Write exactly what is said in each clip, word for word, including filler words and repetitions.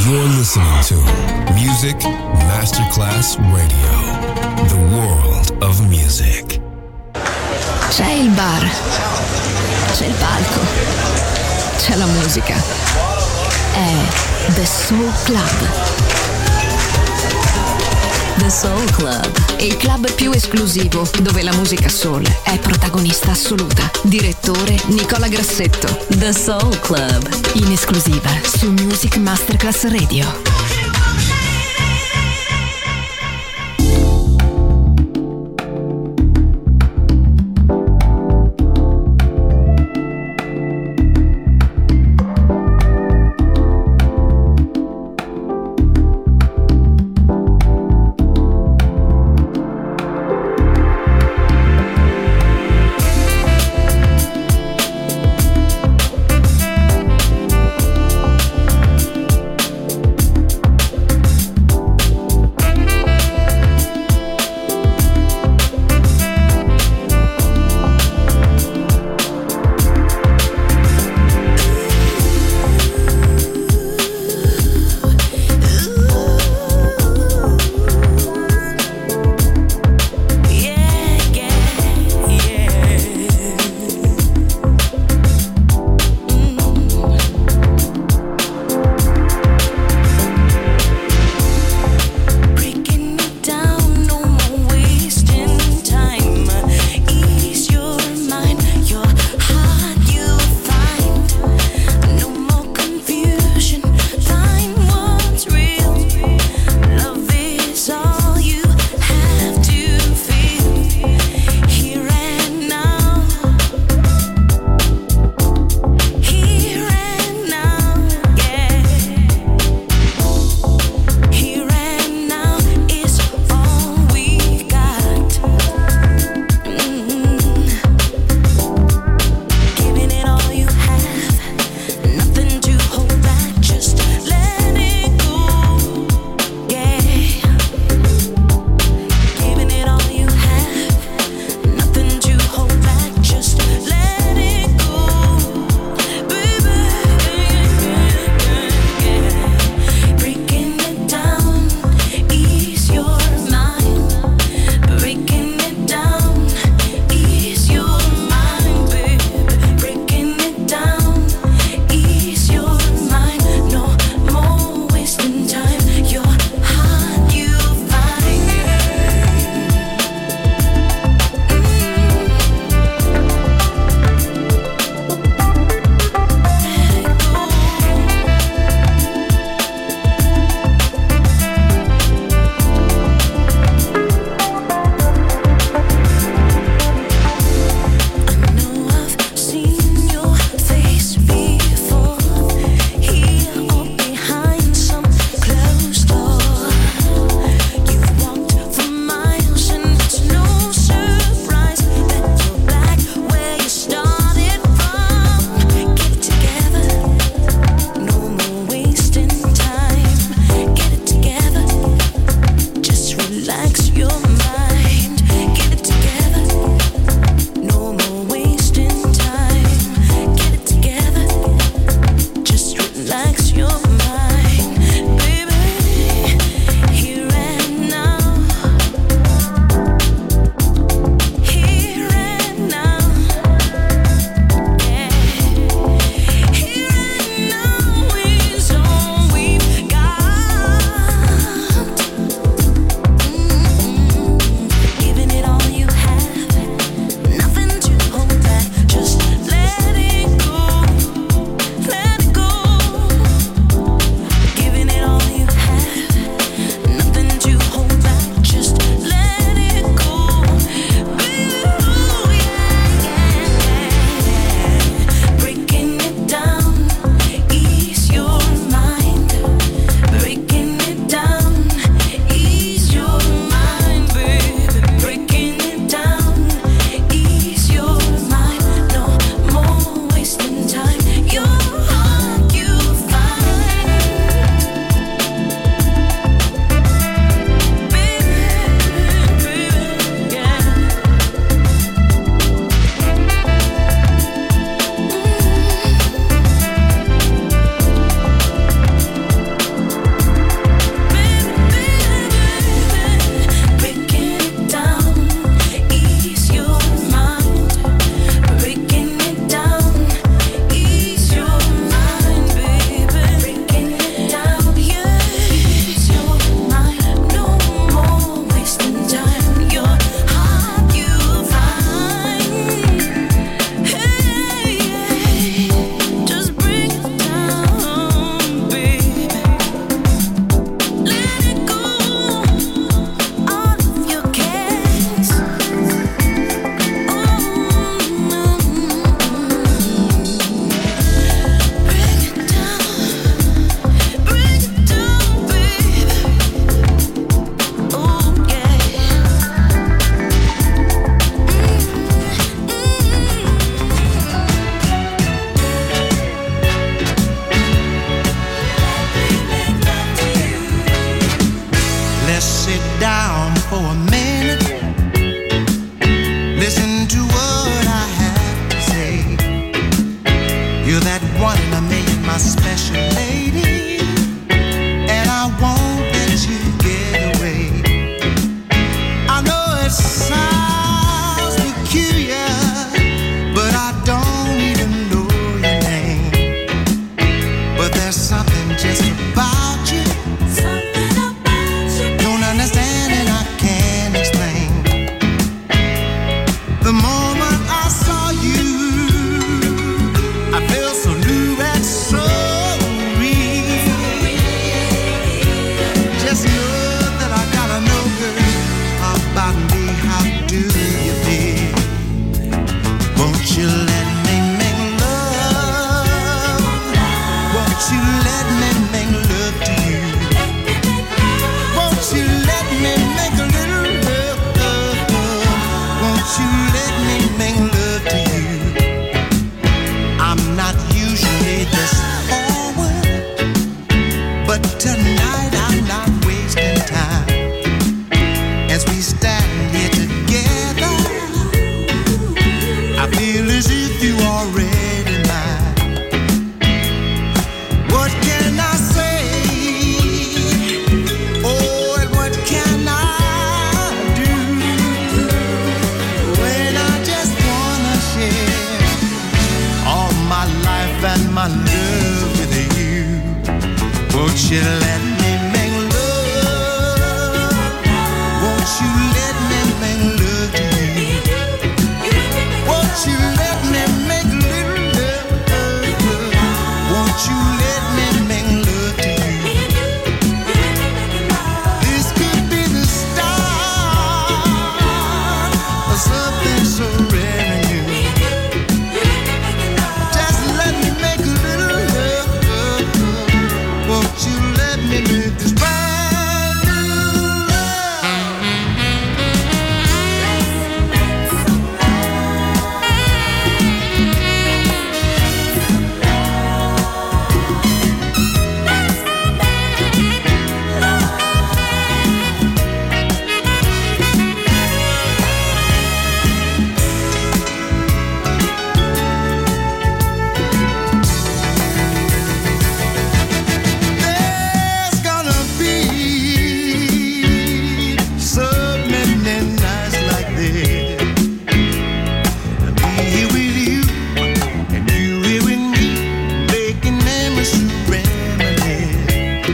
You're listening to Music Masterclass Radio, the world of music. C'è il bar, c'è il palco, c'è la musica. È The Soul Club. The Soul Club, il club più esclusivo dove la musica soul è protagonista assoluta. Direttore Nicola Grassetto. The Soul Club, in esclusiva su Music Masterclass Radio. for a minute. Listen to what I have to say. You're that one in a million, my special lady, and I won't let you get away. I know it sounds peculiar, but I don't even know your name. But there's something just about you, something about you. Don't understand and I can't explain. The moment I saw you, I felt so new and so real. Just know that I gotta know, girl, about me. How do you feel? Won't you let me make love? Won't you let me make love to you? Won't you let me make a little love? Won't you let me make love to you? I'm not usually this forward, but tonight I'm not wasting time. As we stand here together, I feel as if you are already mine. What can I say? Oh, and what can I do when I just wanna share all my life and my love with you? Won't you let me make love? Won't you let me make love to you? Won't you let me make a little love? Won't you let me make love to you? This could be the start of something so rare and new. Just let me make a little love. Won't you let me make this brand new love? There's gonna be so many nights like this. Me here with you, and you here with me, making memories to reminisce.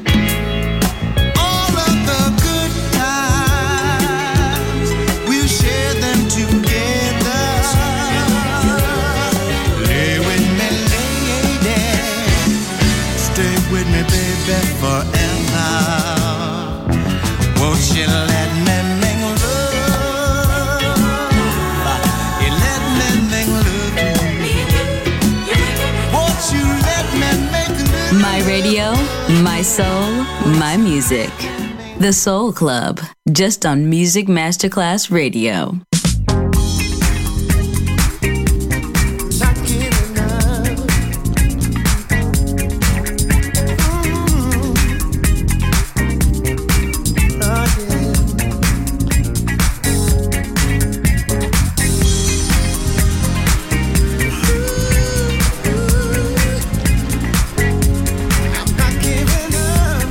All of the good times, we'll share them together. Lay with me, lady, stay with me, baby, forever. Won't you let me make love? You let me make love to you. Won't you let me make love? My radio, my soul, my music. The Soul Club, just on Music Masterclass Radio. Not giving up. Mm. Oh, yeah. I'm not giving up.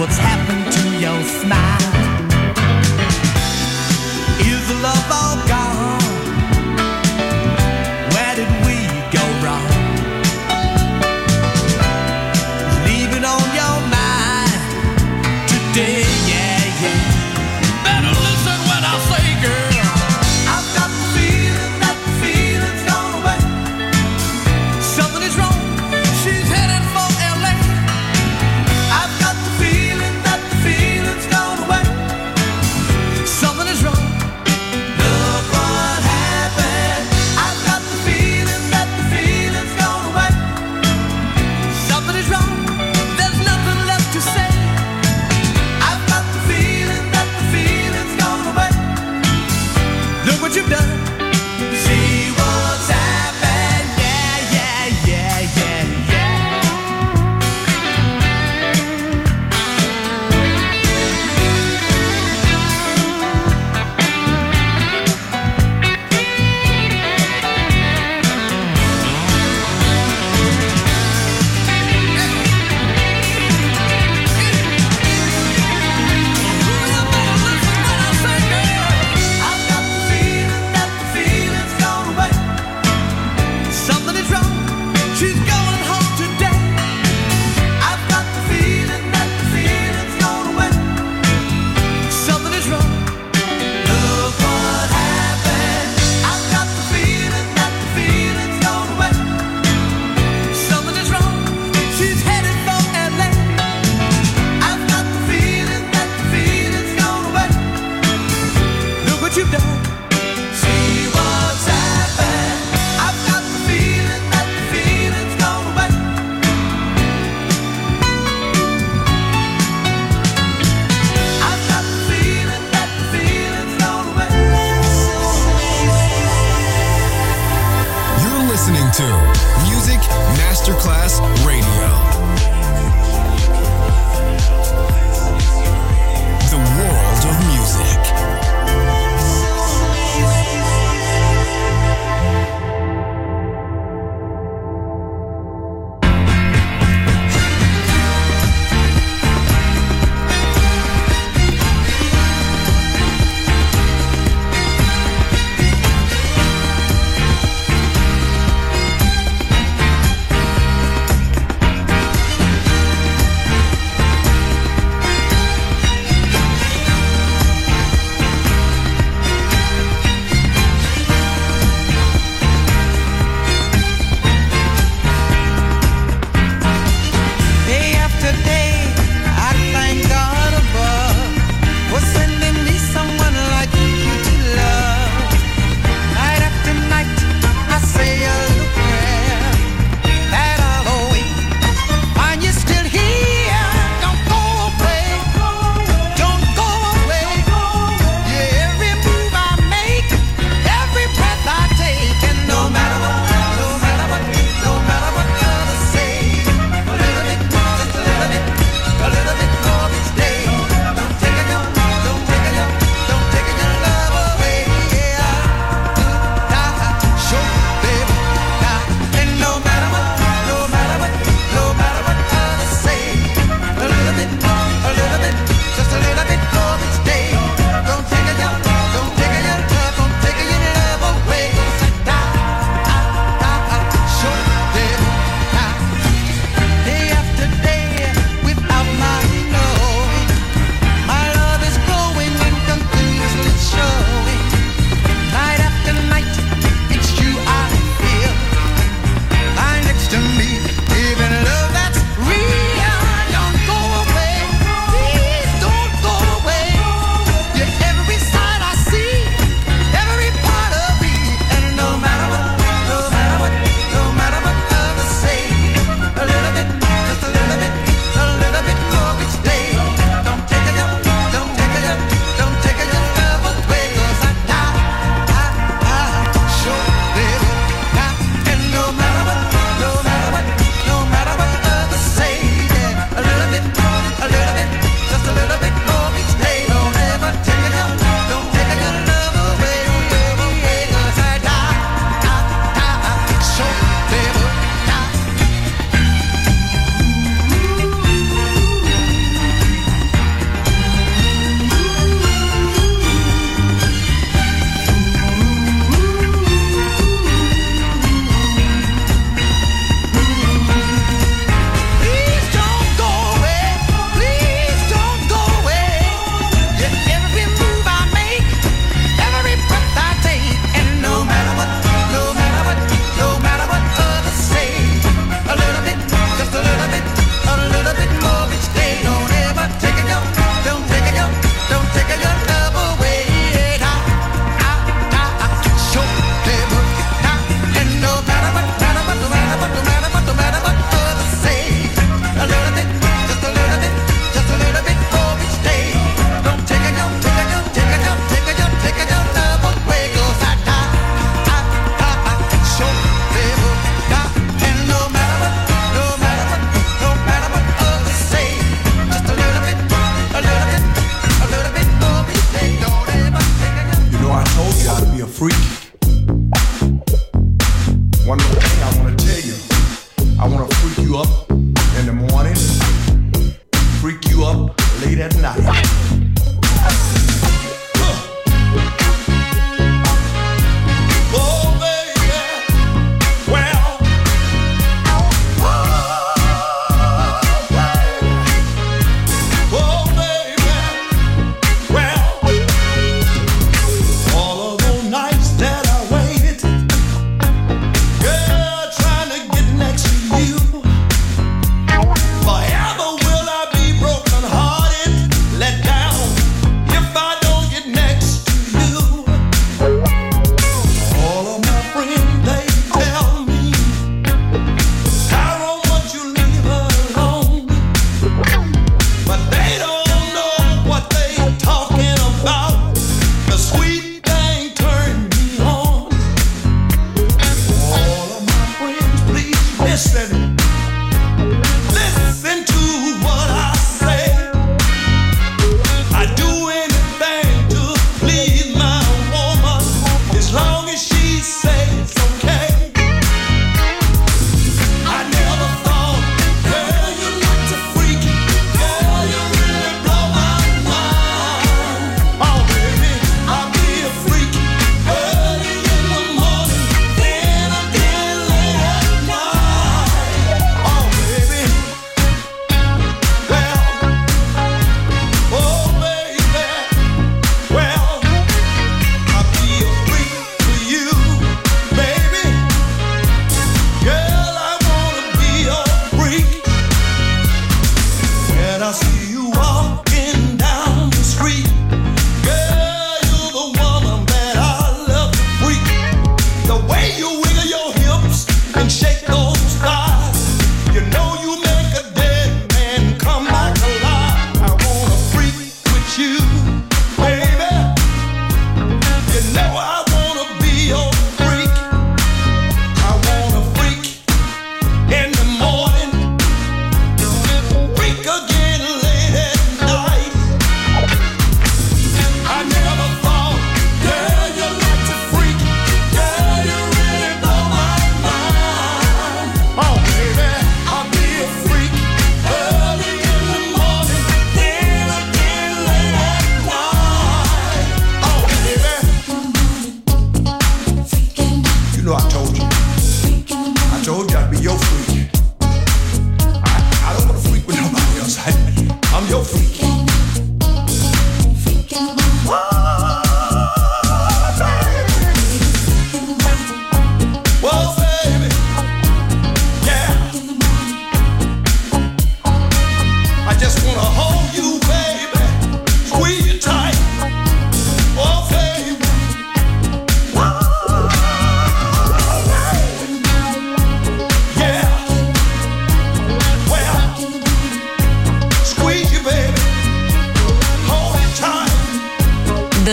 what's happened to your smile. Is the love all gone? Where did we go wrong? Leave it on your mind today, yeah, yeah. Better listen when I say, girl, I've got the feeling that the feeling's gone away. Something is wrong, she's headed for L A. I've got the feeling that the feeling's gone away. Something is wrong. Look what happened. I've got the feeling that the feeling's gone away. Something is wrong. There's nothing left to say. I've got the feeling that the feeling's gone away. Look what you've done. See what's happened. Yeah, yeah, yeah, yeah, yeah. I've got the feeling that the feeling's gone away. Something is wrong. She's going home today. I've got the feeling that the feeling's gone away. Something is wrong. Look what happened. I've got the feeling that the feeling's gone away. Something is wrong. She's headed for L A. I've got the feeling that the feeling's gone away. Look what you've done. See what's happened. I've got the feeling that the feeling's gone away. I've got the feeling that the feeling's gone away. You're listening to Music Masterclass Radio. The world of music. Day after day, I thank God above for sending me someone like you to love. Night after night, I say a little prayer that I'll always find you still here. Don't go away, don't go away. Yeah, every move I make, every breath I take, and no matter what, no matter what, no matter what others say, a little bit, just a little bit.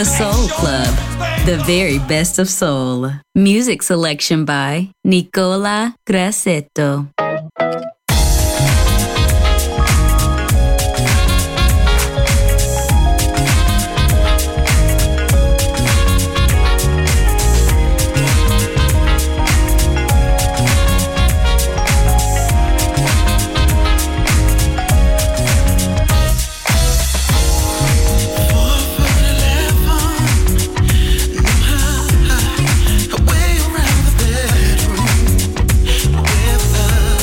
The Soul Club, the very best of soul. Music selection by Nicola Grassetto. Way around the bedroom with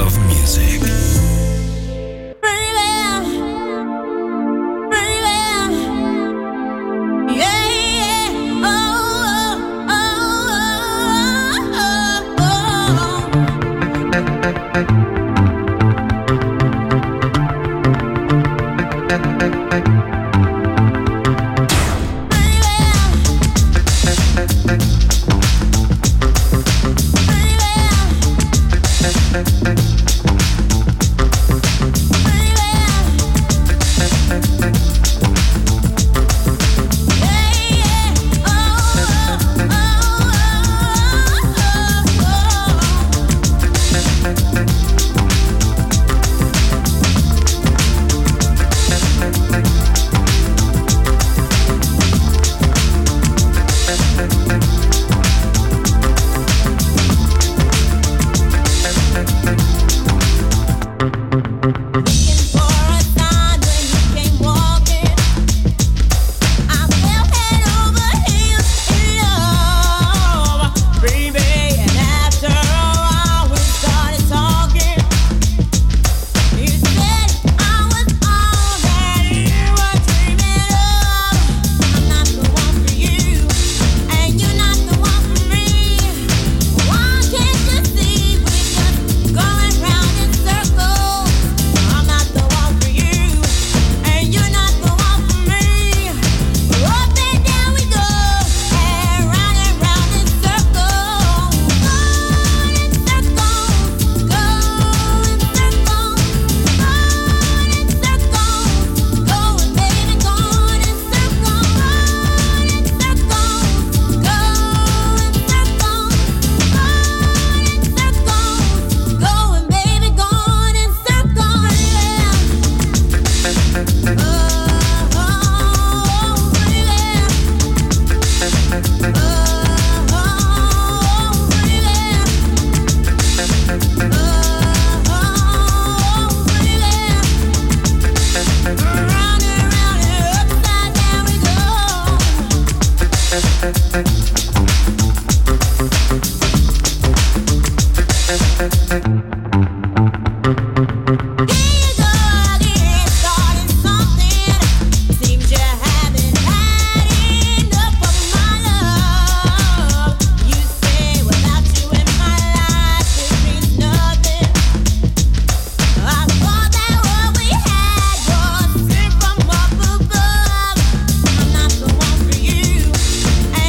of music.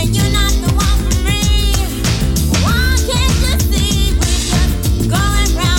Going round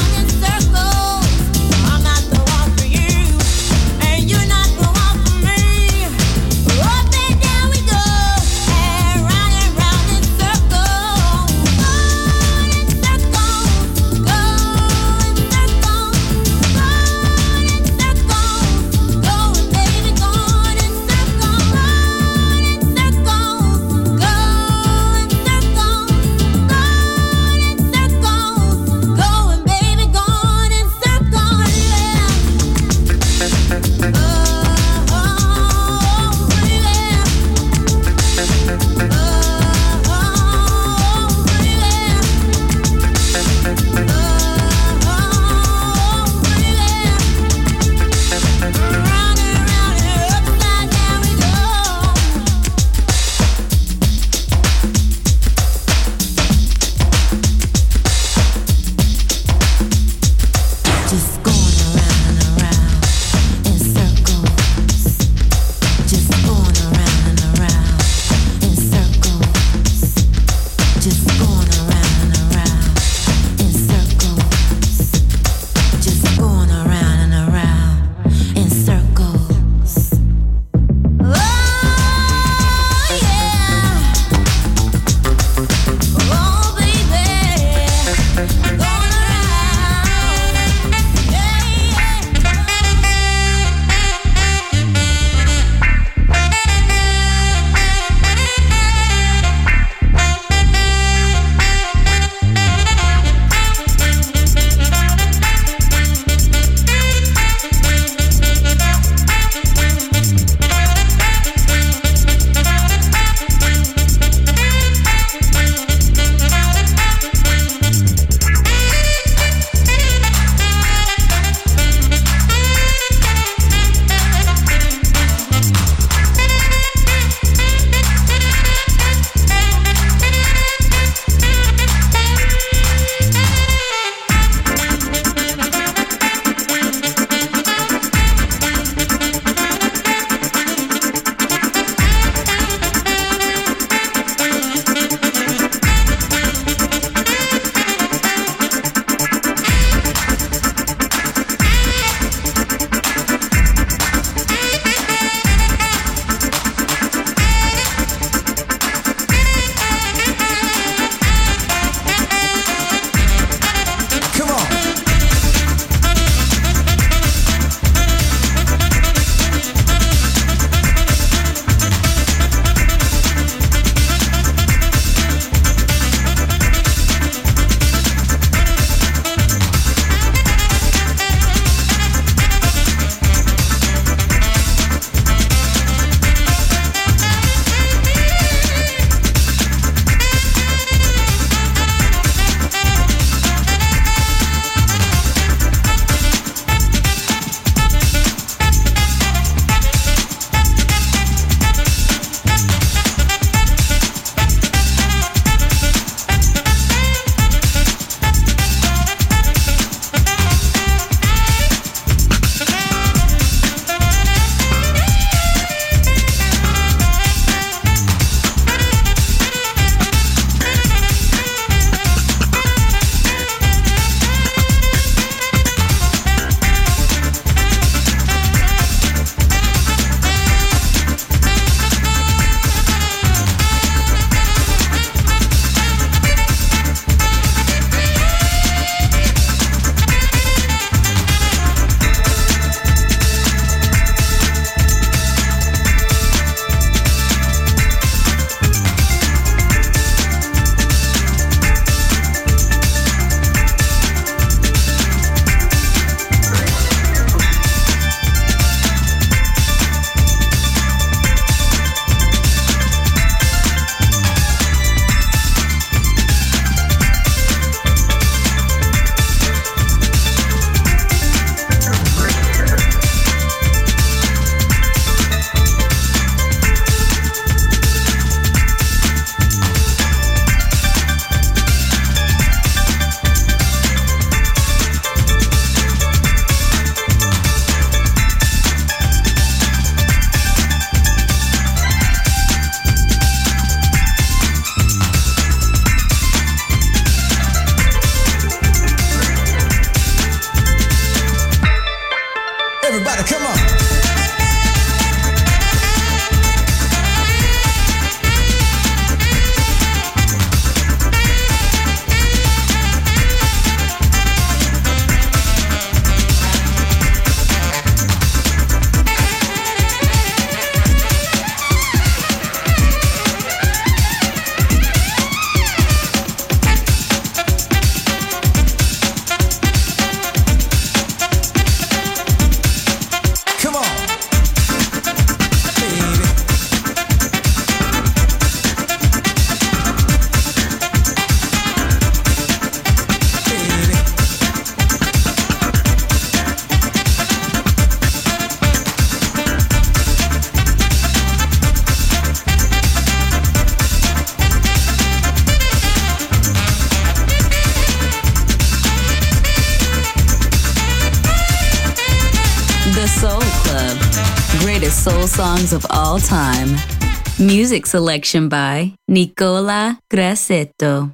greatest soul songs of all time. Music selection by Nicola Grassetto.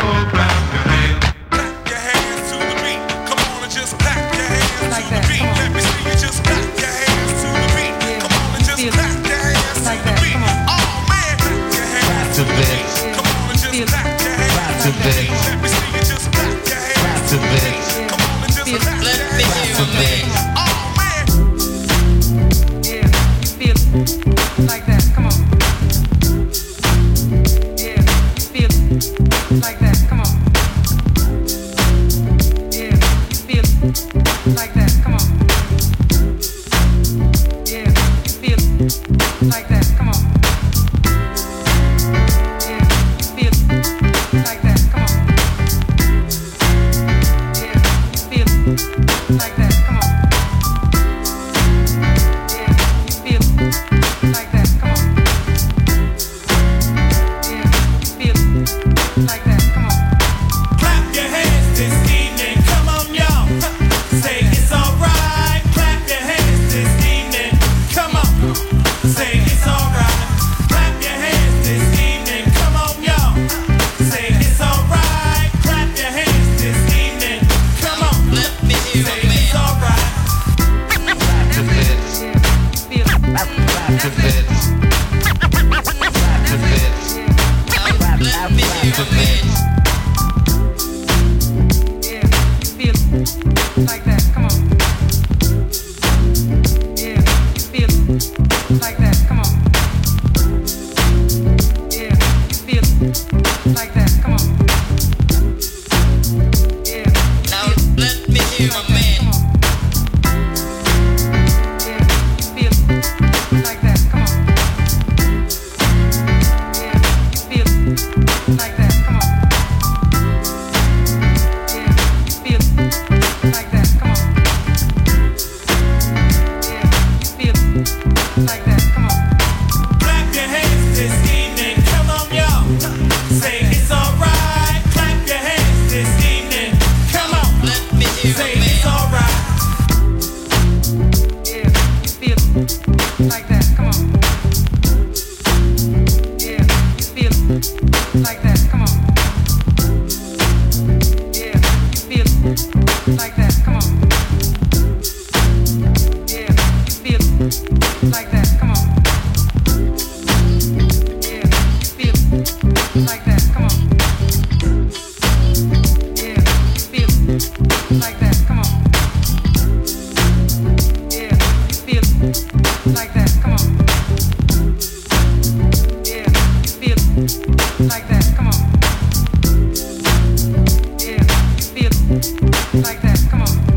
Like that, come on. Yeah, feel like that, come on. Yeah, feel like that, come on. Yeah, feel like that, come on. Yeah, feel like that, come on. Yeah, feel like that, come on. Yeah, feel like that, come on. Yeah, feel like that, come on. Clap your hands this evening, come on y'all. Say it's alright. Clap your hands this evening, come on. Say it's alright. Clap your hands this evening, come on y'all. Say it's alright. Clap your hands this evening, come on. Let me hear Say it's alright. Yeah, feel Clap your hands. Let me hear your man. Yeah, feel like that, come on. Yeah, feel like that, come on. Yeah, feel like that, come on. Yeah, Now let me hear your man. yeah, feel like that, come on. Yeah, feel like that, come on. Yeah, feel like that, come on. Yeah, feel like that, come on. Clap your hands this evening, come on y'all. Say it's alright. Clap your hands this evening, come on. Let me hear Say it's alright. Yeah, feel like that, come on. Yeah, feel like that, come on. Yeah, feel like that, come on. Yeah, feel like that, come on. Yeah, feel like that, come on. Yeah, feel like that, come on. Yeah, feel like that, come on. Yeah, feel like that, come on. Yeah, feel like that, come on.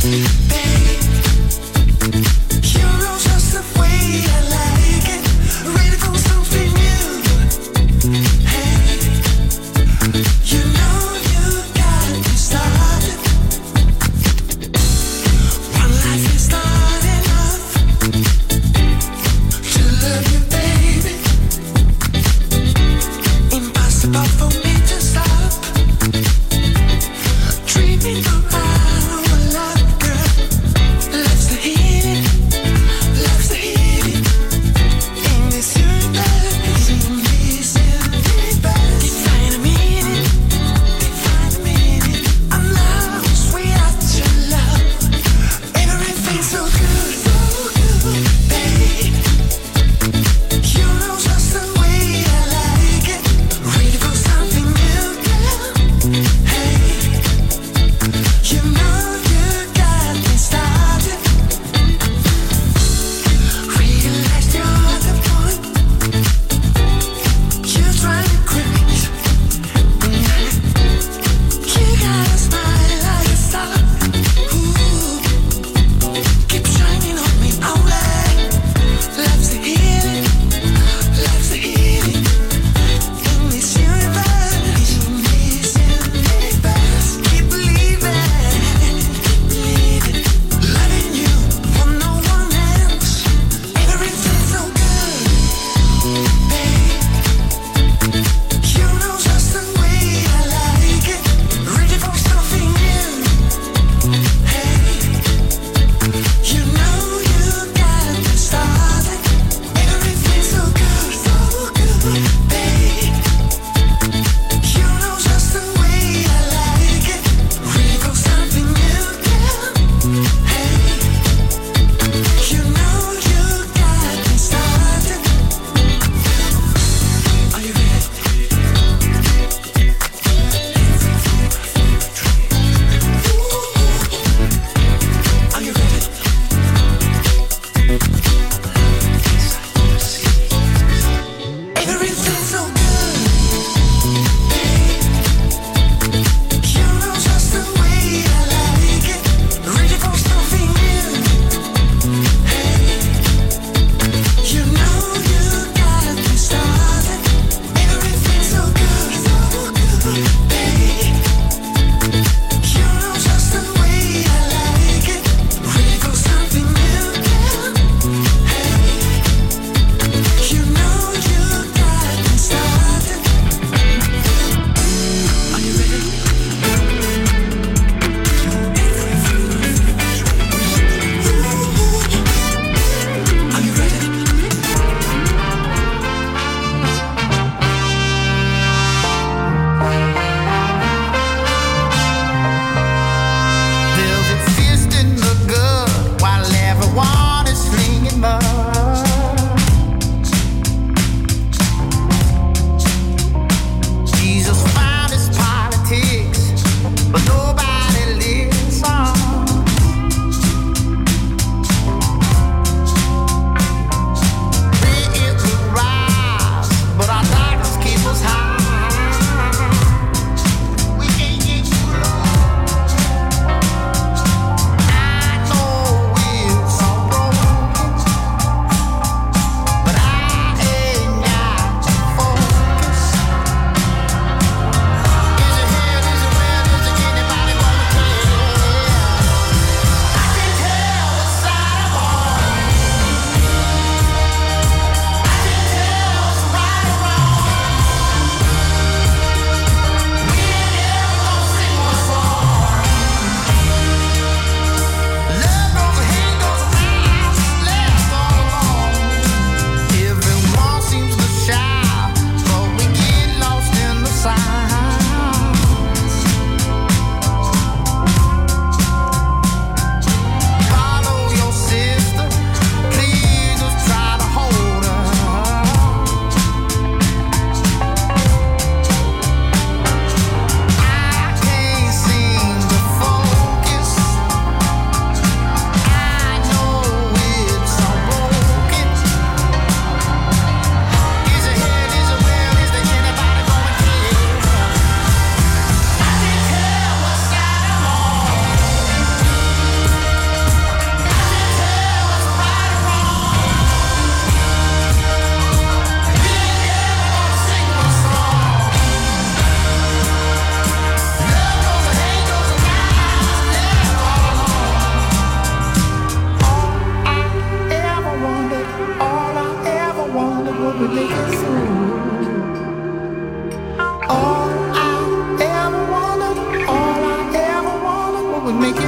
Dreaming around a love girl.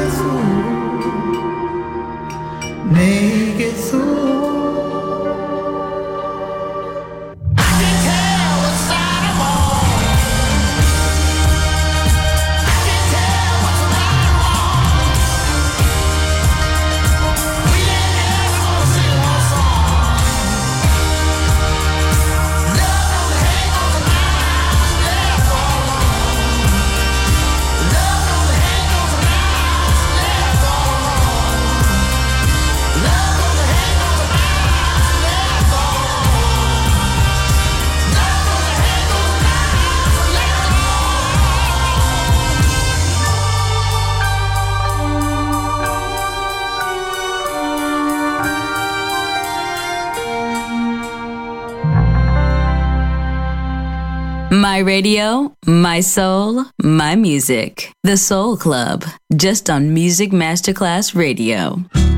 My radio, my soul, my music. The Soul Club, just on Music Masterclass Radio.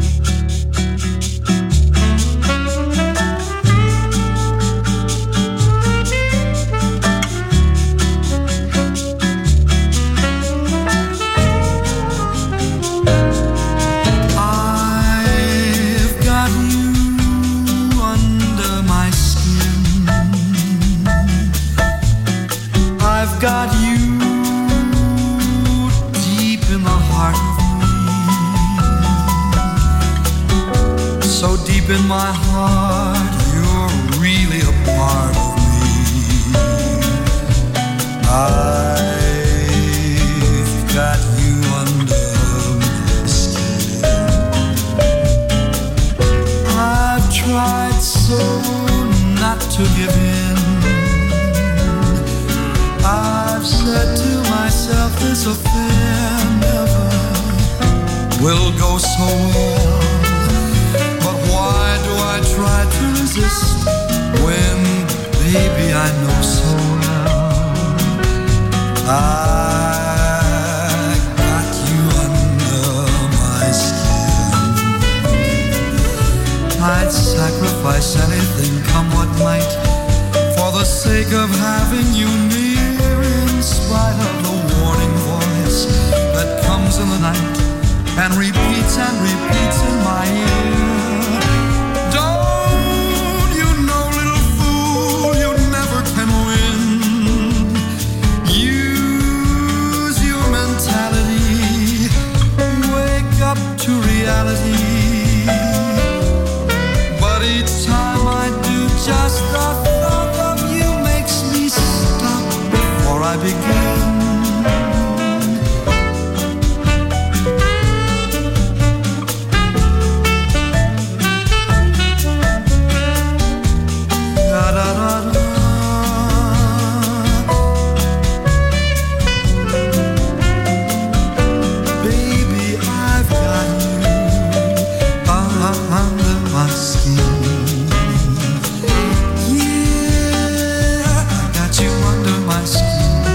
Got you deep in the heart of me, so deep in my heart, you're really a part of me. I've got you under my skin. I've tried so not to give in. I've said to myself, this affair never will go so well. But why do I try to resist when, baby, I know so well I got you under my skin. I'd sacrifice anything, come what might, for the sake of having you near. In spite of the warning voice that comes in the night and repeats and repeats in my ear. Don't you know, little fool, you never can win. Use your mentality, wake up to reality. But each time I do, just the thought of you makes me stop before I begin. Da, da, da, da. Baby, I've got you uh, under my skin. Yeah, I got you under my skin.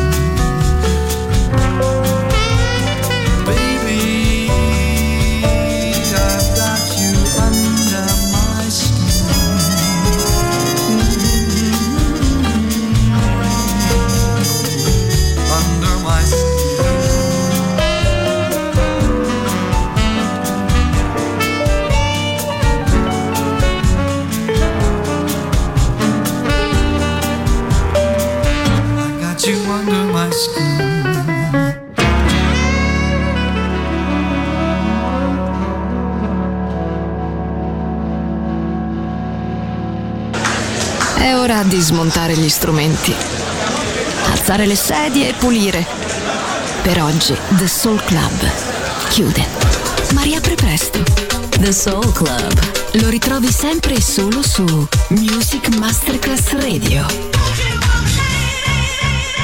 È ora di smontare gli strumenti, alzare le sedie e pulire. Per oggi The Soul Club chiude, ma riapre presto. The Soul Club lo ritrovi sempre e solo su Music Masterclass Radio.